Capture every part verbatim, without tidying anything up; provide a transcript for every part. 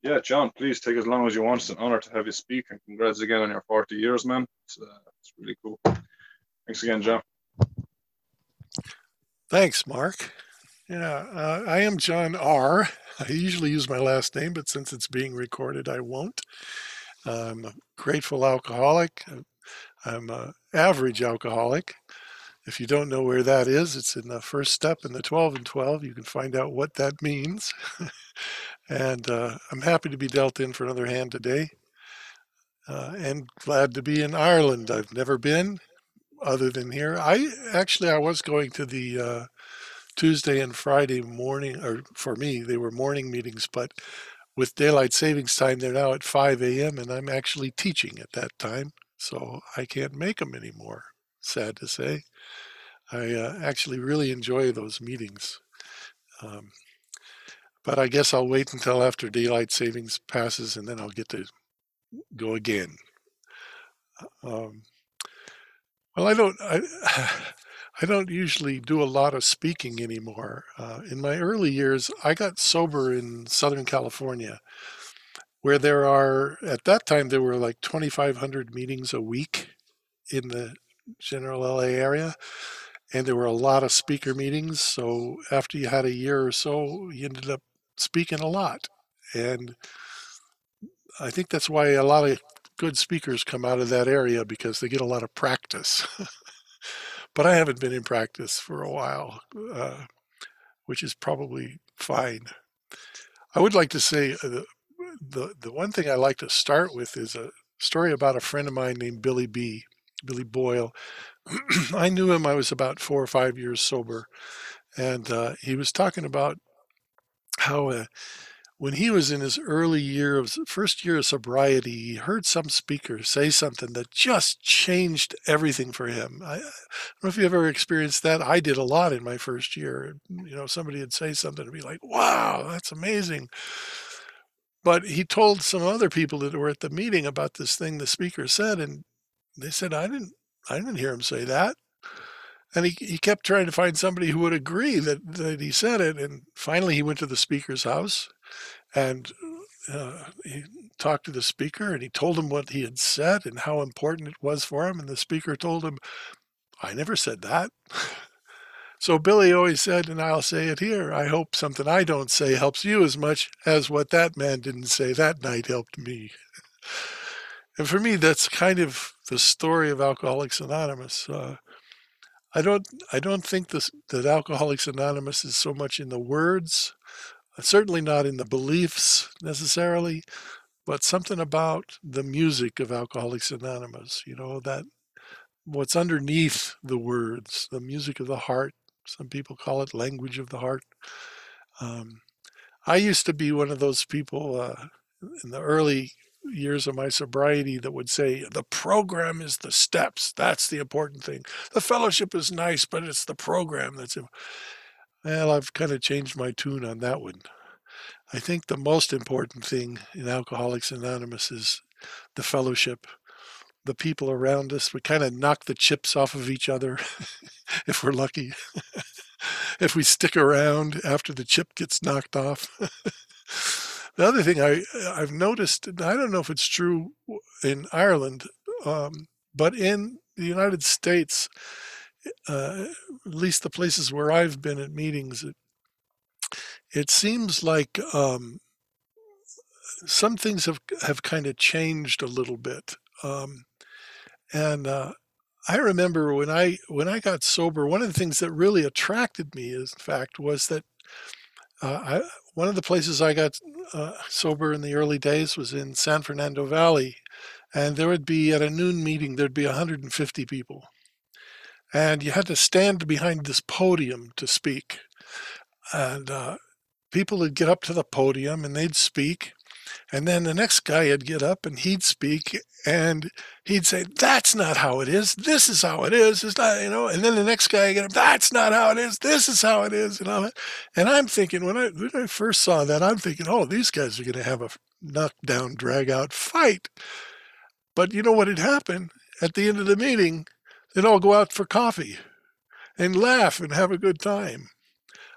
Yeah, John, please take as long as you want. It's an honor to have you speak, and congrats again on your forty years, man. It's, uh, it's really cool. Thanks again, John. Thanks, Mark. Yeah, uh, I am John R. I usually use my last name, but since it's being recorded, I won't. I'm a grateful alcoholic. I'm an average alcoholic. If you don't know where that is, it's in the first step in the twelve and twelve. You can find out what that means. and uh, I'm happy to be dealt in for another hand today uh, and glad to be in Ireland. I've never been other than here. I actually, I was going to the uh, Tuesday and Friday morning, or for me, they were morning meetings, but with daylight savings time, they're now at five a m and I'm actually teaching at that time, so I can't make them anymore. Sad to say. I uh, actually really enjoy those meetings. Um, but I guess I'll wait until after daylight savings passes and then I'll get to go again. Um, well, I don't. I, I don't usually do a lot of speaking anymore. Uh, in my early years, I got sober in Southern California, where there are, at that time, there were like twenty-five hundred meetings a week in the general L A area. And there were a lot of speaker meetings. So after you had a year or so, you ended up speaking a lot. And I think that's why a lot of good speakers come out of that area because they get a lot of practice. but I haven't been in practice for a while, uh, which is probably fine. I would like to say uh, the, the the one thing I like to start with is a story about a friend of mine named Billy B. Billy Boyle. I knew him. I was about four or five years sober, and uh, he was talking about how uh, when he was in his early year of first year of sobriety, he heard some speaker say something that just changed everything for him. I, I don't know if you ever experienced that. I did a lot in my first year. You know, somebody would say something and be like, "Wow, that's amazing." But he told some other people that were at the meeting about this thing the speaker said, and they said, "I didn't, I didn't hear him say that." And he, he kept trying to find somebody who would agree that, that he said it. And finally, he went to the speaker's house and uh, he talked to the speaker and he told him what he had said and how important it was for him. And the speaker told him, "I never said that." So Billy always said, and I'll say it here, I hope something I don't say helps you as much as what that man didn't say that night helped me. And for me, that's kind of the story of Alcoholics Anonymous. Uh, I don't, I don't think this, that Alcoholics Anonymous is so much in the words, certainly not in the beliefs necessarily, but something about the music of Alcoholics Anonymous, you know, that what's underneath the words, the music of the heart. Some people call it language of the heart. Um, I used to be one of those people uh, in the early years of my sobriety that would say the program is the steps. That's the important thing. The fellowship is nice, but it's the program that's. Well, I've kind of changed my tune on that one. I think the most important thing in Alcoholics Anonymous is the fellowship, the people around us. We kind of knock the chips off of each other if we're lucky. if we stick around after the chip gets knocked off. the other thing I I've noticed, and I don't know if it's true in Ireland, um, but in the United States, uh, at least the places where I've been at meetings, it, it seems like um, some things have have kind of changed a little bit. Um, and uh, I remember when I when I got sober, one of the things that really attracted me, in fact, was that uh, I, one of the places I got uh, sober in the early days was in San Fernando Valley, and there would be at a noon meeting there'd be one hundred fifty people, and you had to stand behind this podium to speak, and uh, people would get up to the podium and they'd speak, and then the next guy would get up and he'd speak and he'd say, "That's not how it is. This is how it is. It's not, you know." And then the next guy would get up, "That's not how it is. This is how it is." You know. And I'm thinking when I when I first saw that, I'm thinking, "Oh, these guys are going to have a knockdown, drag out fight." But you know what had happened at the end of the meeting? They'd all go out for coffee and laugh and have a good time.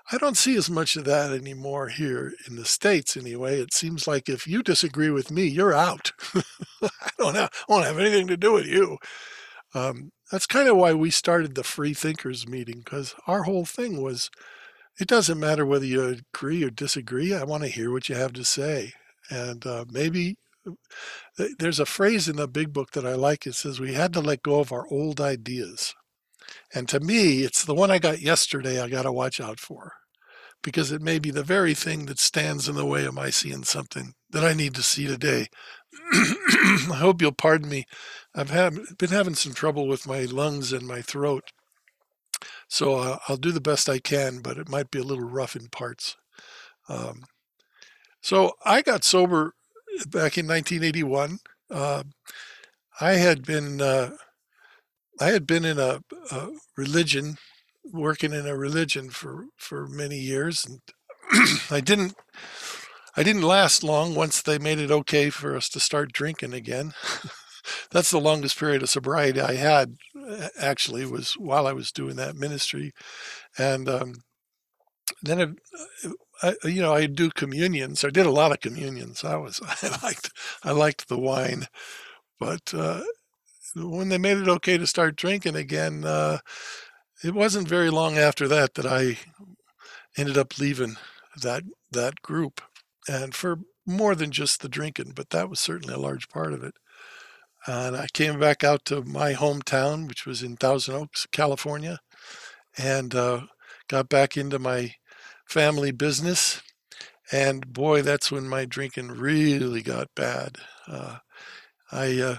I don't see as much of that anymore here in the States anyway. It seems like if you disagree with me, you're out. I don't have, I won't have anything to do with you. Um, that's kind of why we started the Free Thinkers meeting, because our whole thing was it doesn't matter whether you agree or disagree. I want to hear what you have to say. And uh, maybe th- there's a phrase in the big book that I like. It says we had to let go of our old ideas. And to me, it's the one I got yesterday I got to watch out for because it may be the very thing that stands in the way of my seeing something that I need to see today. I hope you'll pardon me. I've had, been having some trouble with my lungs and my throat, so uh, I'll do the best I can, but it might be a little rough in parts. Um, so I got sober back in nineteen eighty-one. Uh, I had been uh, I had been in a, a religion, working in a religion for for many years, and I didn't I didn't last long once they made it okay for us to start drinking again. That's the longest period of sobriety I had, actually, was while I was doing that ministry. And um, then, it, I, you know, I do communions. I did a lot of communions. I was, I liked, I liked the wine. But uh, when they made it okay to start drinking again, uh, it wasn't very long after that that I ended up leaving that that group, and for more than just the drinking, but that was certainly a large part of it. And I came back out to my hometown, which was in Thousand Oaks, California, and uh, got back into my family business. And boy, that's when my drinking really got bad. Uh, I, uh,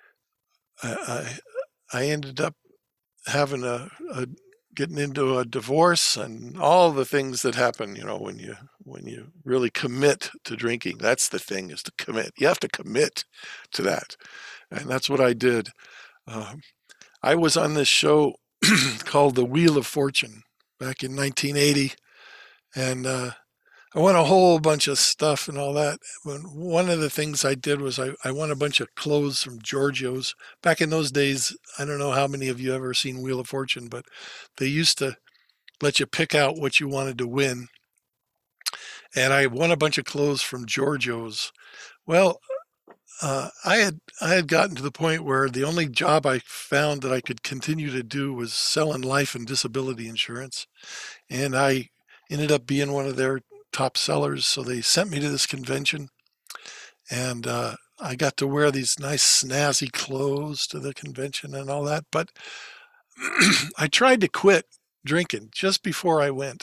I I ended up having a, a getting into a divorce and all the things that happen. You know, when you when you really commit to drinking, that's the thing, is to commit. You have to commit to that, and that's what I did. Um, I was on this show called The Wheel of Fortune back in nineteen eighty, and uh, I won a whole bunch of stuff and all that. One of the things I did was I, I won a bunch of clothes from Giorgio's. Back in those days, I don't know how many of you ever seen Wheel of Fortune, but they used to let you pick out what you wanted to win. And I won a bunch of clothes from Giorgio's. Well, uh, I had I had gotten to the point where the only job I found that I could continue to do was selling life and disability insurance, and I ended up being one of their top sellers. So they sent me to this convention, and uh, I got to wear these nice snazzy clothes to the convention and all that. But I tried to quit drinking just before I went,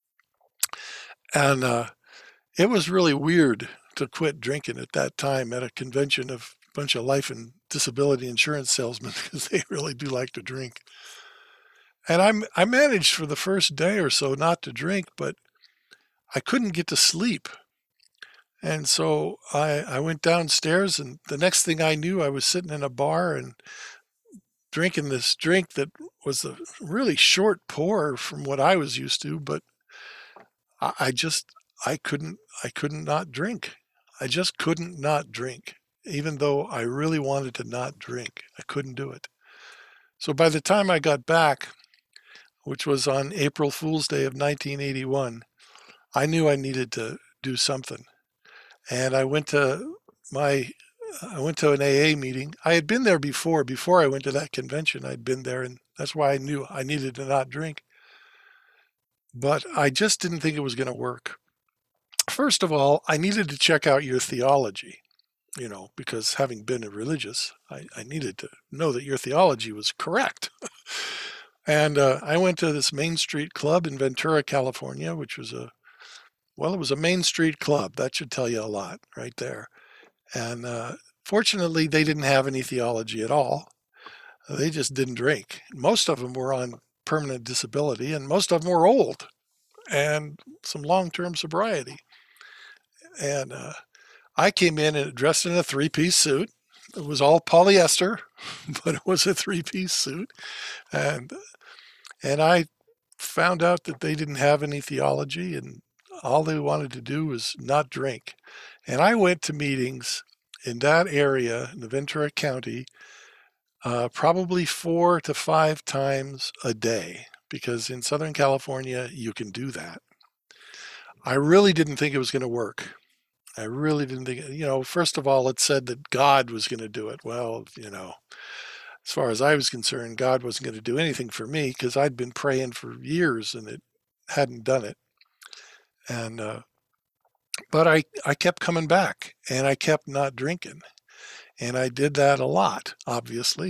and uh, it was really weird to quit drinking at that time at a convention of a bunch of life and disability insurance salesmen, because they really do like to drink. And I I managed for the first day or so not to drink, but I couldn't get to sleep. And so I, I went downstairs, and the next thing I knew, I was sitting in a bar and drinking this drink that was a really short pour from what I was used to, but I, I just I couldn't I couldn't not drink. I just couldn't not drink, even though I really wanted to not drink. I couldn't do it. So by the time I got back, which was on April Fool's Day of nineteen eighty-one, I knew I needed to do something. And I went to my I went to an A A meeting. I had been there before. Before I went to that convention, I'd been there, and that's why I knew I needed to not drink. But I just didn't think it was going to work. First of all, I needed to check out your theology, you know, because having been a religious, I, I needed to know that your theology was correct. And uh, I went to this Main Street club in Ventura, California, which was a, well, it was a Main Street club. That should tell you a lot right there. And uh, fortunately, they didn't have any theology at all. They just didn't drink. Most of them were on permanent disability, and most of them were old and some long-term sobriety. And uh, I came in and dressed in a three-piece suit. It was all polyester, but it was a three-piece suit. And and I found out that they didn't have any theology, and all they wanted to do was not drink. And I went to meetings in that area, in the Ventura County, uh, probably four to five times a day. because in Southern California, you can do that. I really didn't think it was going to work. I really didn't think, you know, first of all, it said that God was going to do it. Well, you know, as far as I was concerned, God wasn't going to do anything for me because I'd been praying for years and it hadn't done it. And, uh, but I, I kept coming back and I kept not drinking. And I did that a lot, obviously.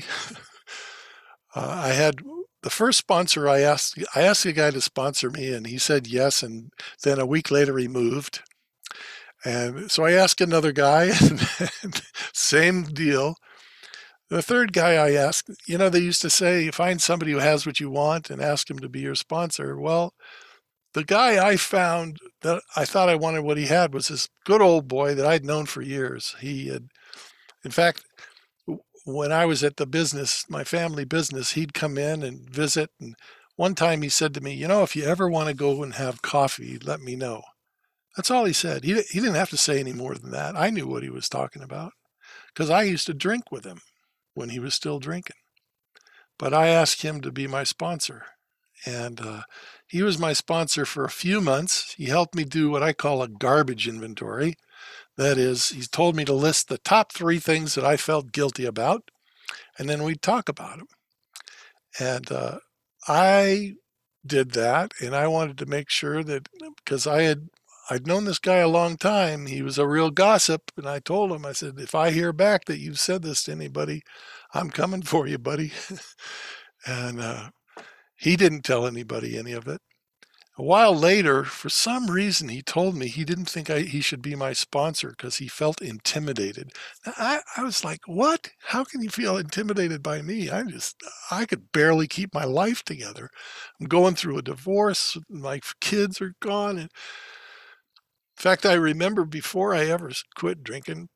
uh, I had the first sponsor I asked, I asked the guy to sponsor me and he said yes. And then a week later he moved. And so I asked another guy, and same deal. The third guy I asked, you know, they used to say, find somebody who has what you want and ask him to be your sponsor. Well, the guy I found that I thought I wanted what he had was this good old boy that I'd known for years. He had, in fact, when I was at the business, my family business, he'd come in and visit. And one time he said to me, you know, if you ever want to go and have coffee, let me know. That's all he said. He, he didn't have to say any more than that. I knew what he was talking about because I used to drink with him when he was still drinking. But I asked him to be my sponsor. And uh, he was my sponsor for a few months. He helped me do what I call a garbage inventory. That is, he told me to list the top three things that I felt guilty about, and then we'd talk about them. And uh, I did that, and I wanted to make sure that because I had I'd known this guy a long time. He was a real gossip. And I told him, I said, if I hear back that you've said this to anybody, I'm coming for you, buddy. and uh, he didn't tell anybody any of it. A while later, for some reason, he told me he didn't think I, he should be my sponsor because he felt intimidated. Now, I, I was like, what? How can you feel intimidated by me? I just, I could barely keep my life together. I'm going through a divorce. My kids are gone. And in fact, I remember before I ever quit drinking,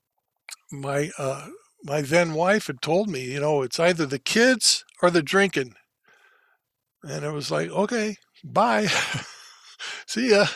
my uh, my then wife had told me, you know, it's either the kids or the drinking. And it was like, okay, bye. See ya.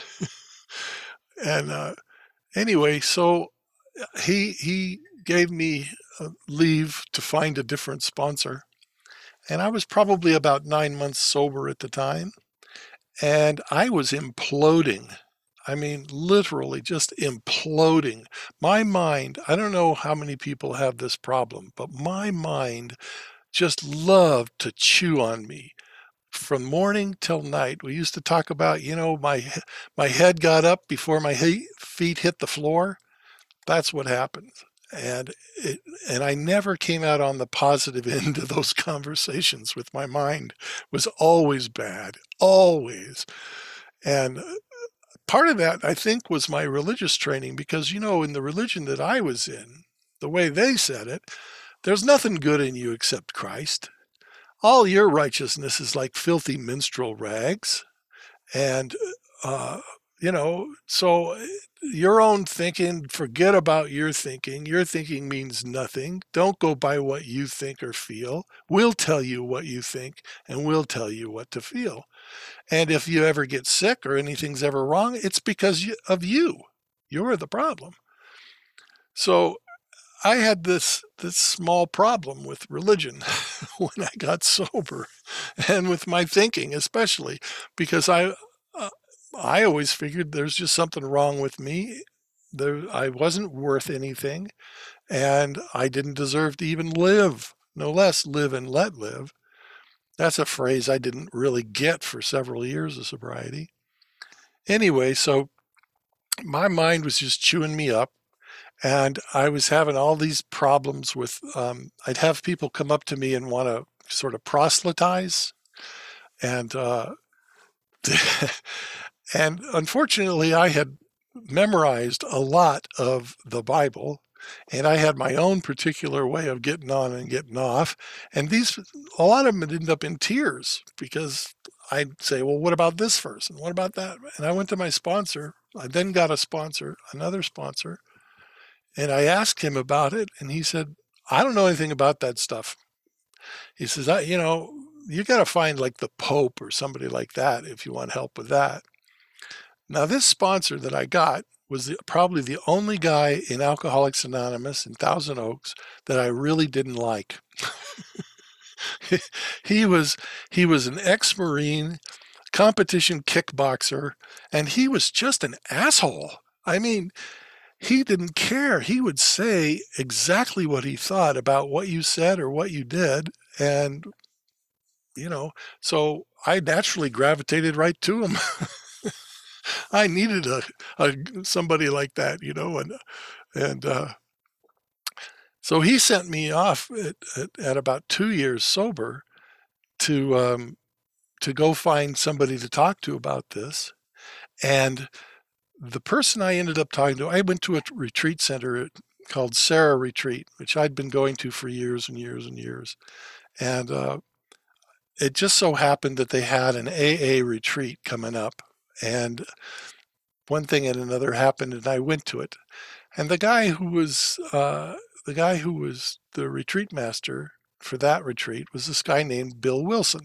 and uh, anyway, so he he gave me uh, leave to find a different sponsor. And I was probably about nine months sober at the time. And I was imploding. I mean, literally just imploding. My mind, I don't know how many people have this problem, but my mind just loved to chew on me from morning till night. We used to talk about, you know, my my head got up before my feet hit the floor. That's what happened. And it, and I never came out on the positive end of those conversations with my mind. It was always bad, always. And part of that, I think, was my religious training because, you know, in the religion that I was in, the way they said it, there's nothing good in you except Christ. All your righteousness is like filthy minstrel rags. And, uh, you know, so your own thinking, forget about your thinking. Your thinking means nothing. Don't go by what you think or feel. We'll tell you what you think and we'll tell you what to feel. And if you ever get sick or anything's ever wrong, it's because of you. You're the problem. So I had this this small problem with religion when I got sober, and with my thinking especially, because I uh, I always figured there's just something wrong with me. There, I wasn't worth anything, and I didn't deserve to even live, no less live and let live. That's a phrase I didn't really get for several years of sobriety. Anyway, so my mind was just chewing me up. And I was having all these problems with, um, I'd have people come up to me and want to sort of proselytize. And, uh, and unfortunately, I had memorized a lot of the Bible. And I had my own particular way of getting on and getting off. And these, a lot of them would end up in tears because I'd say, well, what about this verse? And what about that? And I went to my sponsor. I then got a sponsor, another sponsor. And I asked him about it. And he said, I don't know anything about that stuff. He says, I, you know, you got to find like the Pope or somebody like that if you want help with that. Now, this sponsor that I got was the, probably the only guy in Alcoholics Anonymous in Thousand Oaks that I really didn't like. he was he was an ex-Marine, competition kickboxer, and he was just an asshole. I mean, he didn't care. He would say exactly what he thought about what you said or what you did. And, you know, so I naturally gravitated right to him. I needed a, a somebody like that, you know, and and uh, so he sent me off at, at, at about two years sober to um, to go find somebody to talk to about this. And the person I ended up talking to, I went to a retreat center called Sarah Retreat, which I'd been going to for years and years and years. And uh, it just so happened that they had an A A retreat coming up. And one thing and another happened, and I went to it. And the guy who was uh, the guy who was the retreat master for that retreat was this guy named Bill Wilson.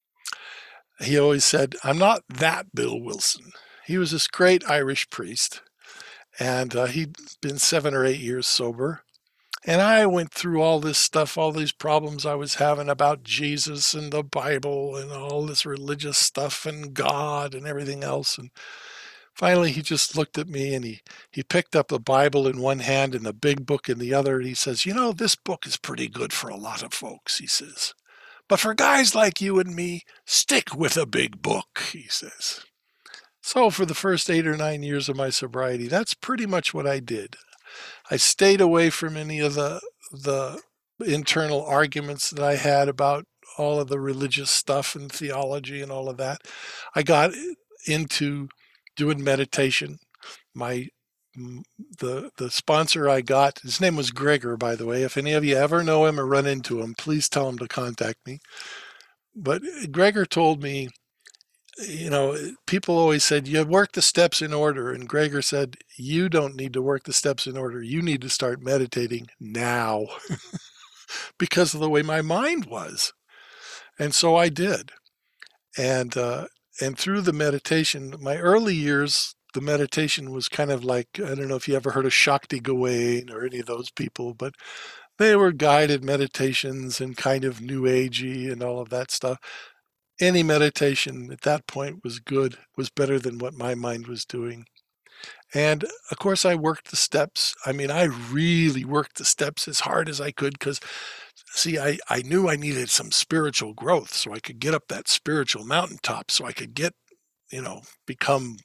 He always said, "I'm not that Bill Wilson." He was this great Irish priest, and uh, he'd been seven or eight years sober. And I went through all this stuff, all these problems I was having about Jesus and the Bible and all this religious stuff and God and everything else. And finally, he just looked at me and he, he picked up the Bible in one hand and the big book in the other. And he says, "You know, this book is pretty good for a lot of folks," he says. "But for guys like you and me, stick with a big book," he says. So for the first eight or nine years of my sobriety, that's pretty much what I did. I stayed away from any of the the internal arguments that I had about all of the religious stuff and theology and all of that. I got into doing meditation. My the the sponsor I got, his name was Gregor, by the way. If any of you ever know him or run into him, please tell him to contact me. But Gregor told me, you know, people always said, "You work the steps in order." And Gregor said, "You don't need to work the steps in order. You need to start meditating now," because of the way my mind was. And so I did. And, uh, and through the meditation, my early years, the meditation was kind of like, I don't know if you ever heard of Shakti Gawain or any of those people, but they were guided meditations and kind of new agey and all of that stuff. Any meditation at that point was good, was better than what my mind was doing. And of course, I worked the steps. I mean, I really worked the steps as hard as I could because, see, I, I knew I needed some spiritual growth so I could get up that spiritual mountaintop, so I could get, you know, become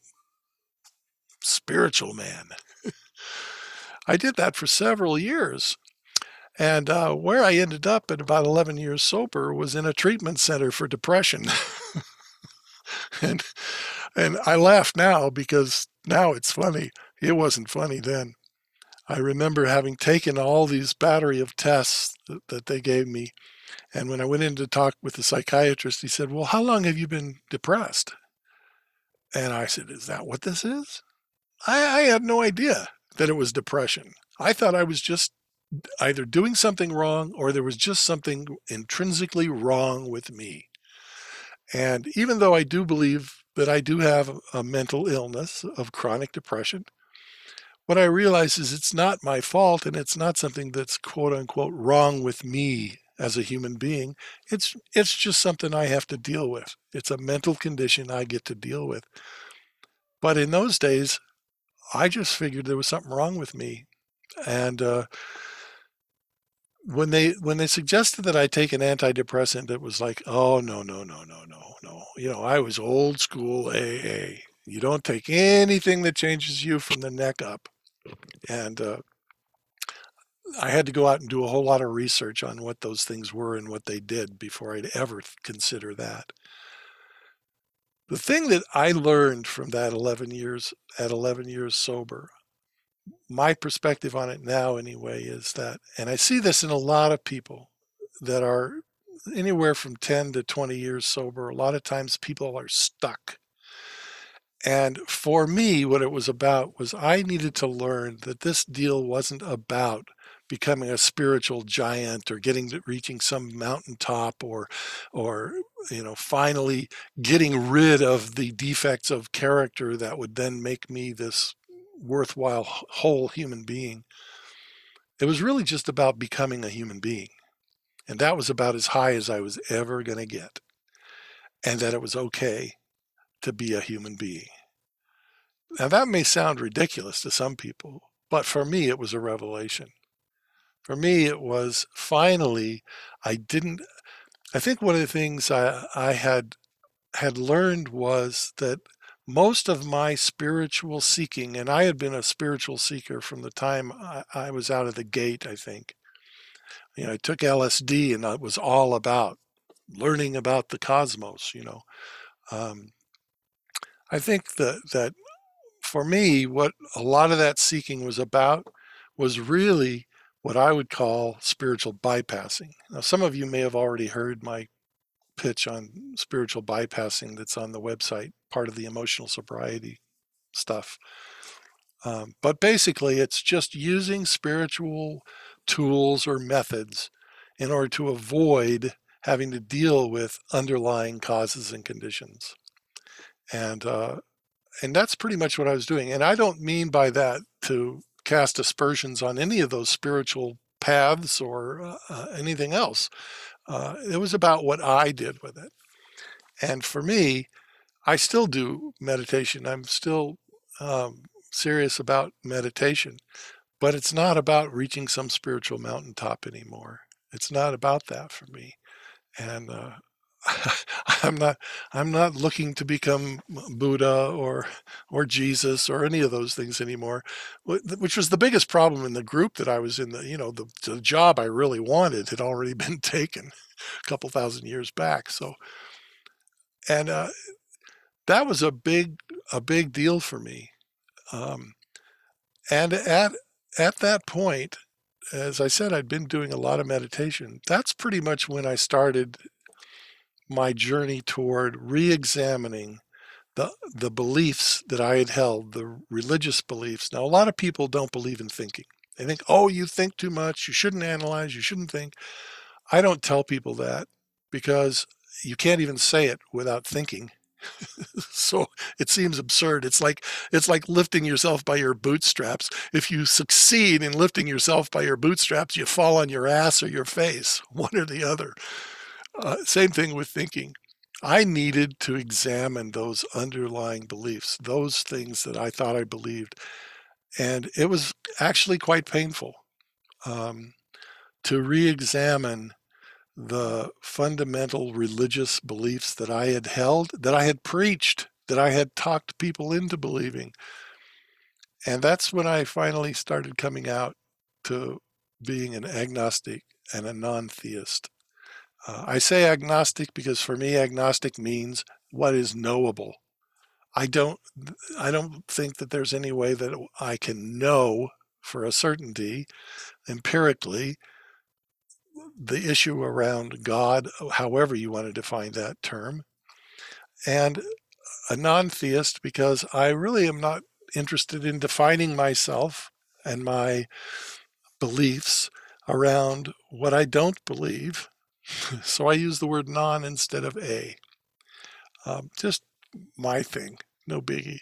spiritual man. I did that for several years. And uh, where I ended up at about eleven years sober was in a treatment center for depression. and and I laugh now because now it's funny. It wasn't funny then. I remember having taken all these battery of tests that, that they gave me. And when I went in to talk with the psychiatrist, he said, "Well, how long have you been depressed?" And I said, "Is that what this is?" I, I had no idea that it was depression. I thought I was just either doing something wrong or there was just something intrinsically wrong with me. And even though I do believe that I do have a mental illness of chronic depression, what I realize is it's not my fault and it's not something that's quote unquote wrong with me as a human being. It's it's just something I have to deal with. It's a mental condition I get to deal with. But in those days, I just figured there was something wrong with me. And uh, when they when they suggested that I take an antidepressant, it was like, "Oh, no, no, no, no, no, no." You know, I was old school A A. You don't take anything that changes you from the neck up. And uh, I had to go out and do a whole lot of research on what those things were and what they did before I'd ever consider that. The thing that I learned from that eleven years at eleven years sober, my perspective on it now anyway, is that, and I see this in a lot of people that are anywhere from ten to twenty years sober, a lot of times people are stuck. And for me, what it was about was I needed to learn that this deal wasn't about becoming a spiritual giant or getting to reaching some mountaintop or or you know finally getting rid of the defects of character that would then make me this worthwhile whole human being. It was really just about becoming a human being. And that was about as high as I was ever going to get. And that it was okay to be a human being. Now, that may sound ridiculous to some people, but for me, it was a revelation. For me, it was finally, I didn't, I think one of the things I, I had had learned was that most of my spiritual seeking, and I had been a spiritual seeker from the time I, I was out of the gate, I think. You know, I took L S D and it was all about learning about the cosmos, you know. Um, I think that, that for me, what a lot of that seeking was about was really what I would call spiritual bypassing. Now, some of you may have already heard my pitch on spiritual bypassing that's on the website, part of the emotional sobriety stuff. Um, but basically, it's just using spiritual tools or methods in order to avoid having to deal with underlying causes and conditions. And uh, and that's pretty much what I was doing. And I don't mean by that to cast aspersions on any of those spiritual paths or uh, uh, anything else. Uh, it was about what I did with it. And for me, I still do meditation. I'm still um, serious about meditation, but it's not about reaching some spiritual mountaintop anymore. It's not about that for me. And uh, I'm not I'm not looking to become Buddha or or Jesus or any of those things anymore, which was the biggest problem in the group that I was in. The you know the, the job I really wanted had already been taken a couple thousand years back. So and uh, that was a big a big deal for me. Um, and at at that point, as I said, I'd been doing a lot of meditation. That's pretty much when I started my journey toward re-examining the the beliefs that I had held, the religious beliefs. Now, a lot of people don't believe in thinking. They think, oh, you think too much, you shouldn't analyze, you shouldn't think. I don't tell people that because you can't even say it without thinking. So it seems absurd. It's like it's like lifting yourself by your bootstraps. If you succeed in lifting yourself by your bootstraps, you fall on your ass or your face, one or the other. Uh, same thing with thinking. I needed to examine those underlying beliefs, those things that I thought I believed. And it was actually quite painful um, to re examine the fundamental religious beliefs that I had held, that I had preached, that I had talked people into believing. And that's when I finally started coming out to being an agnostic and a non theist. Uh, I say agnostic because for me, agnostic means what is knowable. I don't, I don't think that there's any way that I can know for a certainty empirically the issue around God, however you want to define that term, and a non-theist because I really am not interested in defining myself and my beliefs around what I don't believe. So I use the word non instead of a. Um, just my thing, no biggie.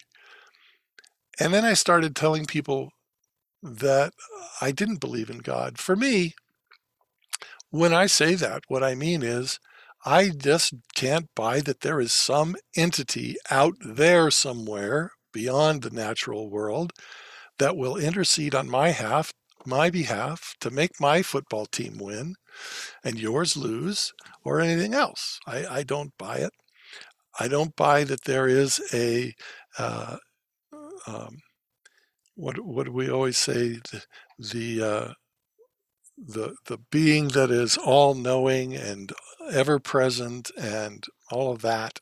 And then I started telling people that I didn't believe in God. For me, when I say that, what I mean is I just can't buy that there is some entity out there somewhere beyond the natural world that will intercede on my half, my behalf to make my football team win and yours lose or anything else. I, I don't buy it. I don't buy that there is a uh, um, what what do we always say the the uh, the the being that is all knowing and ever present and all of that.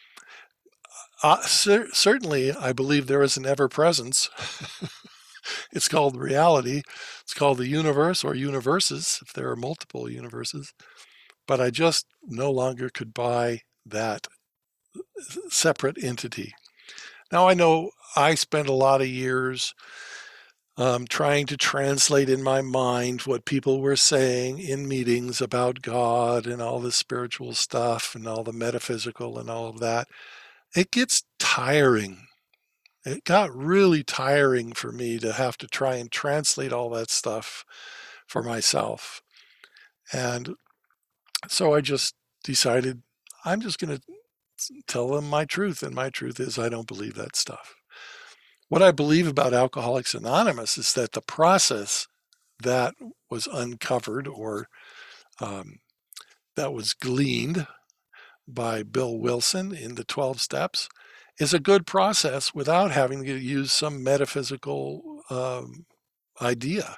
Uh, cer- certainly, I believe there is an ever presence. It's called reality. It's called the universe or universes if there are multiple universes. But I just no longer could buy that separate entity. Now I know I spent a lot of years um, trying to translate in my mind what people were saying in meetings about God and all the spiritual stuff and all the metaphysical and all of that. It gets tiring. It got really tiring for me to have to try and translate all that stuff for myself. And So I just decided I'm just going to tell them my truth. And my truth is I don't believe that stuff. What I believe about Alcoholics Anonymous is that the process that was uncovered or um, that was gleaned by Bill Wilson in the twelve steps is a good process without having to use some metaphysical um, idea.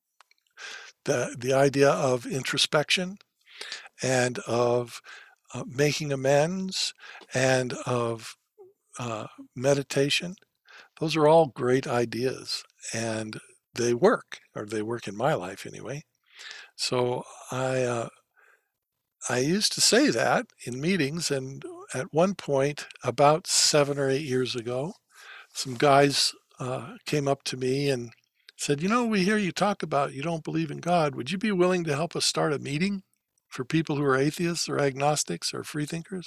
The, the idea of introspection and of uh, making amends and of uh, meditation, those are all great ideas and they work, or they work in my life anyway. So I uh, I used to say that in meetings, and at one point, about seven or eight years ago, some guys uh, came up to me and said, "You know, we hear you talk about you don't believe in God. Would you be willing to help us start a meeting for people who are atheists or agnostics or freethinkers?"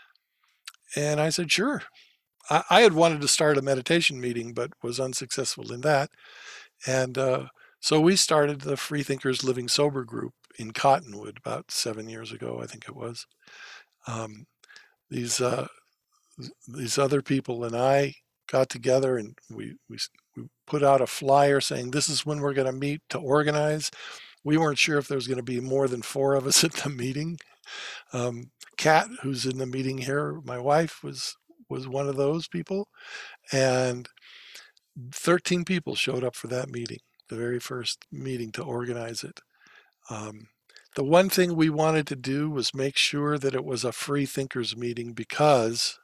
And I said, "Sure." I, I had wanted to start a meditation meeting, but was unsuccessful in that. And uh, so we started the Freethinkers Living Sober group in Cottonwood about seven years ago, I think it was. Um, these uh, these other people and I got together and we, we we put out a flyer saying this is when we're going to meet to organize. We weren't sure if there was going to be more than four of us at the meeting. Um, Kat, who's in the meeting here, my wife was was one of those people, and thirteen people showed up for that meeting, the very first meeting to organize it. Um, the one thing we wanted to do was make sure that it was a free thinkers meeting because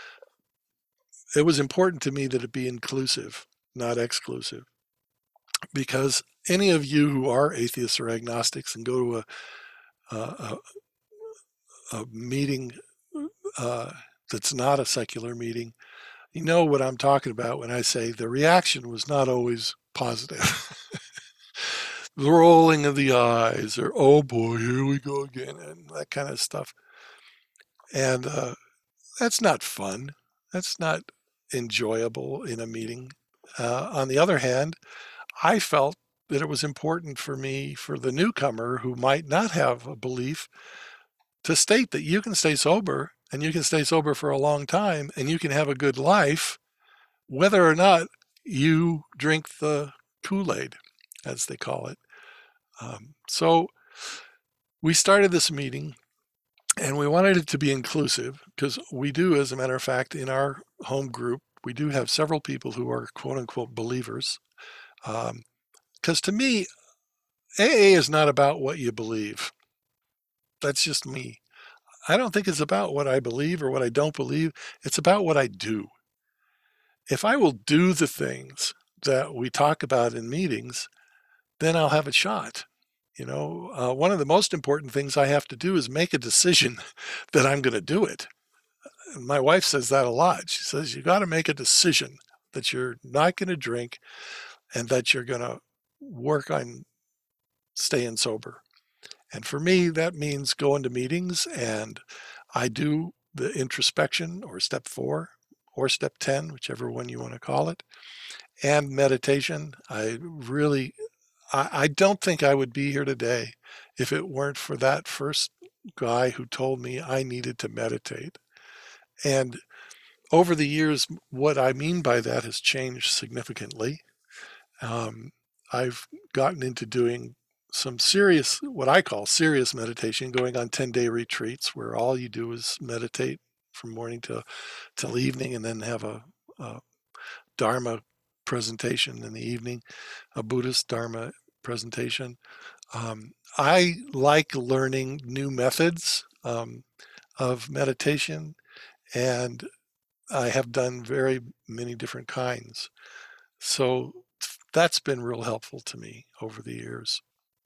it was important to me that it be inclusive, not exclusive. Because any of you who are atheists or agnostics and go to a, a, a meeting uh, that's not a secular meeting, you know what I'm talking about when I say the reaction was not always positive. The rolling of the eyes, or oh boy, here we go again, and that kind of stuff. And uh, that's not fun. That's not enjoyable in a meeting. Uh, on the other hand, I felt that it was important for me, for the newcomer who might not have a belief, to state that you can stay sober and you can stay sober for a long time and you can have a good life, whether or not you drink the Kool-Aid, as they call it. Um, so we started this meeting and we wanted it to be inclusive because we do, as a matter of fact, in our home group, we do have several people who are quote unquote believers. Because um, to me, A A is not about what you believe. That's just me. I don't think it's about what I believe or what I don't believe. It's about what I do. If I will do the things that we talk about in meetings, then I'll have a shot. You know, uh, one of the most important things I have to do is make a decision that I'm going to do it. And my wife says that a lot. She says, you got to make a decision that you're not going to drink and that you're going to work on staying sober. And for me, that means going to meetings, and I do the introspection or step four or step ten, whichever one you want to call it, and meditation. I really, I, I don't think I would be here today if it weren't for that first guy who told me I needed to meditate. And over the years, what I mean by that has changed significantly. Um, I've gotten into doing some serious, what I call serious meditation, going on ten day retreats where all you do is meditate from morning to till evening and then have a, a Dharma presentation in the evening, a Buddhist Dharma presentation. Um, I like learning new methods um, of meditation, and I have done very many different kinds. So that's been real helpful to me over the years.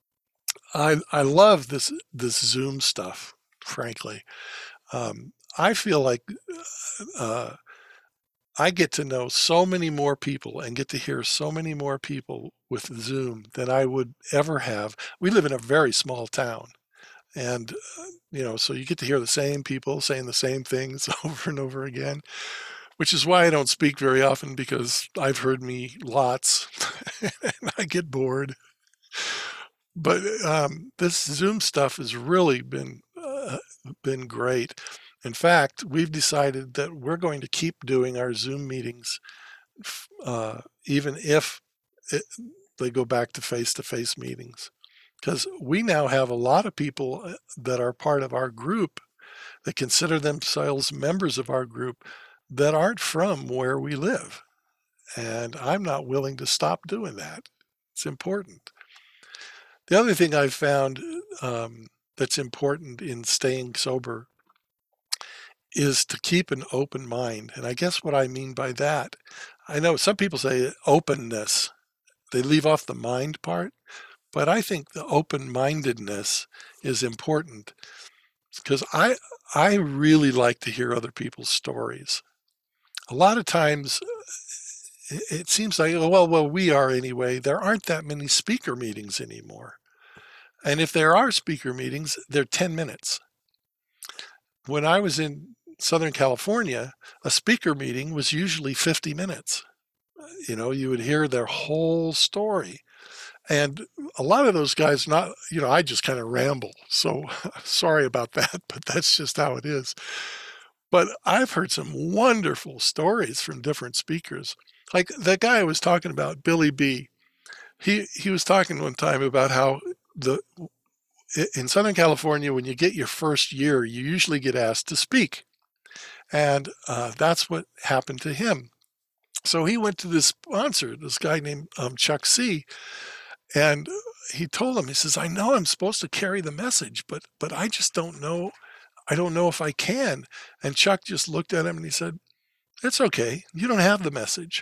I I love this this Zoom stuff, frankly. Um, I feel like uh, I get to know so many more people and get to hear so many more people with Zoom than I would ever have. We live in a very small town, and uh, you know, so you get to hear the same people saying the same things over and over again, which is why I don't speak very often because I've heard me lots and I get bored. But um, this Zoom stuff has really been uh, been great. In fact, we've decided that we're going to keep doing our Zoom meetings, uh, even if it, they go back to face-to-face meetings, because we now have a lot of people uh, that are part of our group that consider themselves members of our group that aren't from where we live. And I'm not willing to stop doing that. It's important. The other thing I've found um, that's important in staying sober is to keep an open mind. And I guess what I mean by that, I know some people say openness, they leave off the mind part, but I think the open-mindedness is important because I I really like to hear other people's stories. A lot of times it seems like, oh, well, well, we are anyway. There aren't that many speaker meetings anymore. And if there are speaker meetings, they're ten minutes. When I was in Southern California, a speaker meeting was usually fifty minutes. You know, you would hear their whole story. And a lot of those guys, not, you know, I just kind of ramble. So sorry about that, but that's just how it is. But I've heard some wonderful stories from different speakers. Like that guy I was talking about, Billy B. He he was talking one time about how the in Southern California, when you get your first year, you usually get asked to speak, and uh, that's what happened to him. So he went to this sponsor, this guy named um, Chuck C, and he told him, he says, "I know I'm supposed to carry the message, but but I just don't know. I don't know if I can." And Chuck just looked at him and he said, "It's okay. You don't have the message."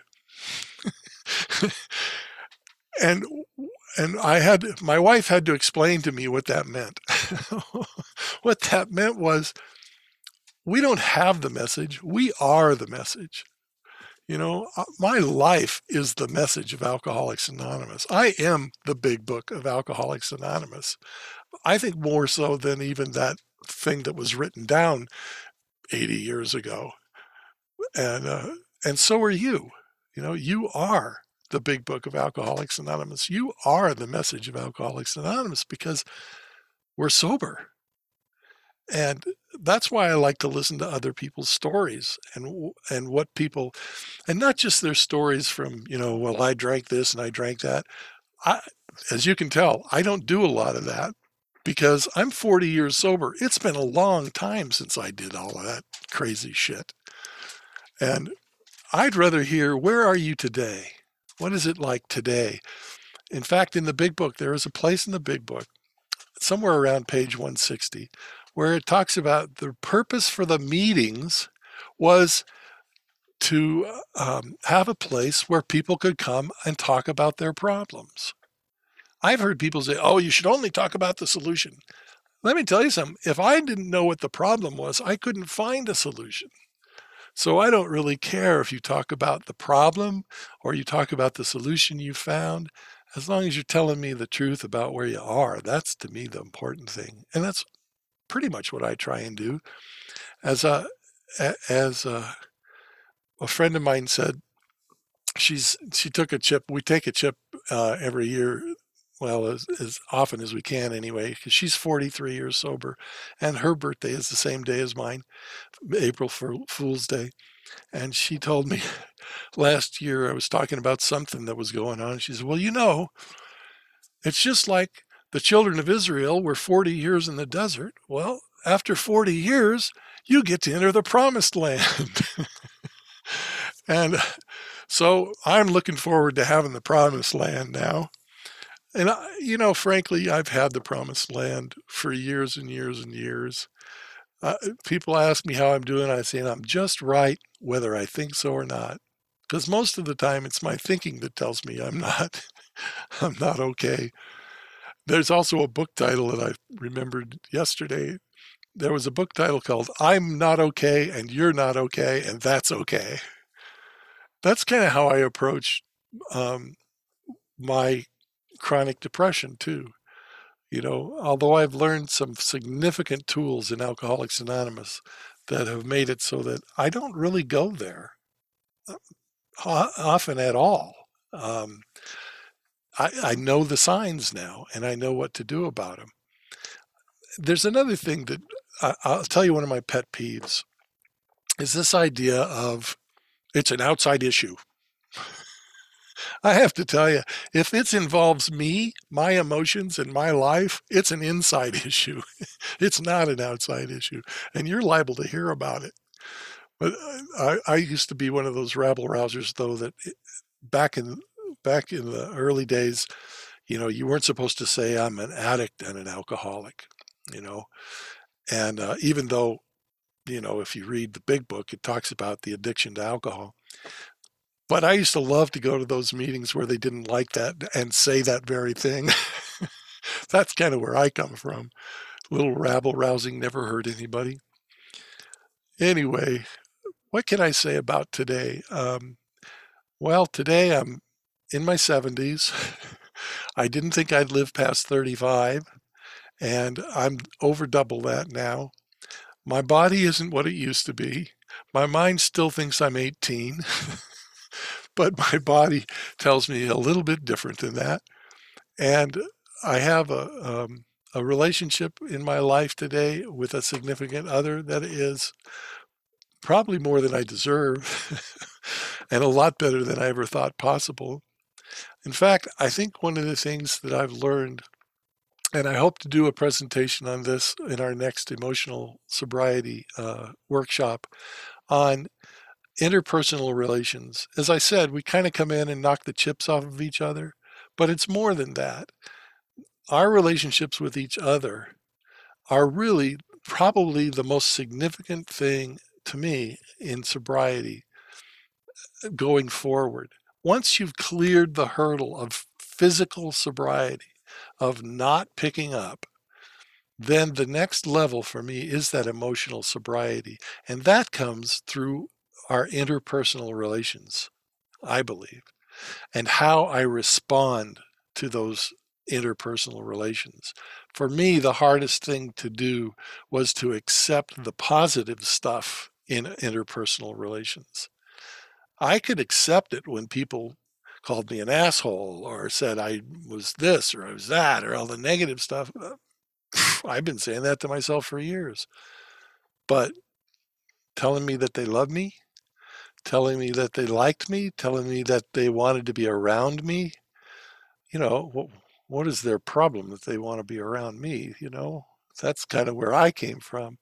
and and I had my wife had to explain to me what that meant. What that meant was we don't have the message. We are the message. You know, uh, my life is the message of Alcoholics Anonymous. I am the big book of Alcoholics Anonymous. I think more so than even that thing that was written down eighty years ago. And uh, and so are you. You know, you are the big book of Alcoholics Anonymous. You are the message of Alcoholics Anonymous because we're sober. And that's why I like to listen to other people's stories and and what people, and not just their stories from, you know, well, I drank this and I drank that. I, as you can tell, I don't do a lot of that because I'm forty years sober. It's been a long time since I did all of that crazy shit. And I'd rather hear, where are you today? What is it like today? In fact, in the big book, there is a place in the big book, somewhere around page one sixty, where it talks about the purpose for the meetings was to um, have a place where people could come and talk about their problems. I've heard people say, oh, you should only talk about the solution. Let me tell you something. If I didn't know what the problem was, I couldn't find a solution. So I don't really care if you talk about the problem or you talk about the solution you found, as long as you're telling me the truth about where you are. That's to me the important thing. And that's pretty much what I try and do. As a, as a, a friend of mine said, she's she took a chip. We take a chip uh, every year, well, as, as often as we can anyway, because she's forty-three years sober, and her birthday is the same day as mine, April Fool's Day. And she told me last year I was talking about something that was going on. She said, well, you know, it's just like the children of Israel were forty years in the desert. Well, after forty years, you get to enter the promised land. And so I'm looking forward to having the promised land now. And, I, you know, frankly, I've had the promised land for years and years and years. Uh, people ask me how I'm doing. I say I'm just right, whether I think so or not. Because most of the time it's my thinking that tells me I'm not, I'm not okay. There's also a book title that I remembered yesterday. There was a book title called I'm Not Okay and You're Not Okay and That's Okay. That's kind of how I approach um, my chronic depression too. You know, although I've learned some significant tools in Alcoholics Anonymous that have made it so that I don't really go there uh, often at all. Um, I, I know the signs now and I know what to do about them. There's another thing that I, I'll tell you one of my pet peeves is this idea of it's an outside issue. I have to tell you, if it involves me, my emotions, and my life, it's an inside issue. It's not an outside issue, and you're liable to hear about it. But I, I used to be one of those rabble rousers, though, that it, back in back in the early days, you know, you weren't supposed to say I'm an addict and an alcoholic, you know, and uh, even though, you know, if you read the big book, it talks about the addiction to alcohol. But I used to love to go to those meetings where they didn't like that and say that very thing. That's kind of where I come from. A little rabble rousing never hurt anybody. Anyway, what can I say about today? Um, well, today I'm in my seventies. I didn't think I'd live past thirty-five, and I'm over double that now. My body isn't what it used to be. My mind still thinks I'm eighteen, but my body tells me a little bit different than that. And I have a um, a relationship in my life today with a significant other that is probably more than I deserve and a lot better than I ever thought possible. In fact, I think one of the things that I've learned, and I hope to do a presentation on this in our next emotional sobriety uh, workshop on interpersonal relations. As I said, we kind of come in and knock the chips off of each other, but it's more than that. Our relationships with each other are really probably the most significant thing to me in sobriety going forward. Once you've cleared the hurdle of physical sobriety, of not picking up, then the next level for me is that emotional sobriety. And that comes through our interpersonal relations, I believe, and how I respond to those interpersonal relations. For me, the hardest thing to do was to accept the positive stuff in interpersonal relations. I could accept it when people called me an asshole or said I was this or I was that or all the negative stuff. I've been saying that to myself for years. But telling me that they love me, telling me that they liked me, telling me that they wanted to be around me, you know, what, what is their problem that they want to be around me? You know, that's kind of where I came from.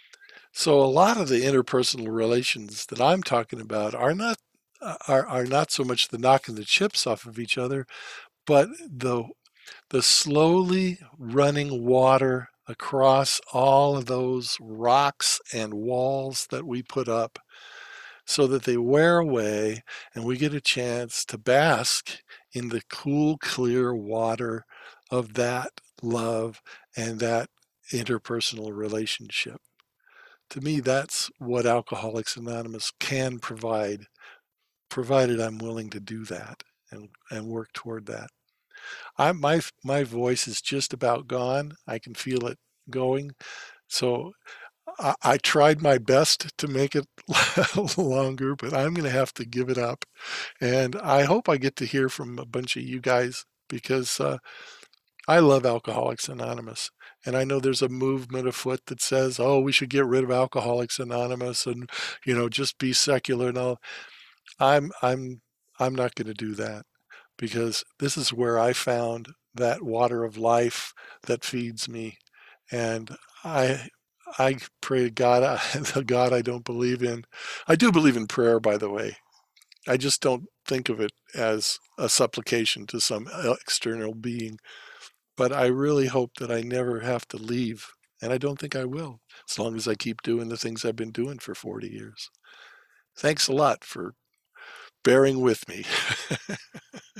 So a lot of the interpersonal relations that I'm talking about are not uh, are, are not so much the knocking the chips off of each other, but the the slowly running water across all of those rocks and walls that we put up so that they wear away and we get a chance to bask in the cool, clear water of that love and that interpersonal relationship. To me, that's what Alcoholics Anonymous can provide, provided I'm willing to do that and, and work toward that. I, my my voice is just about gone. I can feel it going. So I, I tried my best to make it longer, but I'm going to have to give it up. And I hope I get to hear from a bunch of you guys because uh, I love Alcoholics Anonymous. And I know there's a movement afoot that says, oh, we should get rid of Alcoholics Anonymous and, you know, just be secular and all. I'm I'm I'm not going to do that because this is where I found that water of life that feeds me. And I I pray to God, the God I don't believe in. I do believe in prayer, by the way. I just don't think of it as a supplication to some external being. But I really hope that I never have to leave. And I don't think I will, as long as I keep doing the things I've been doing for forty years. Thanks a lot for bearing with me.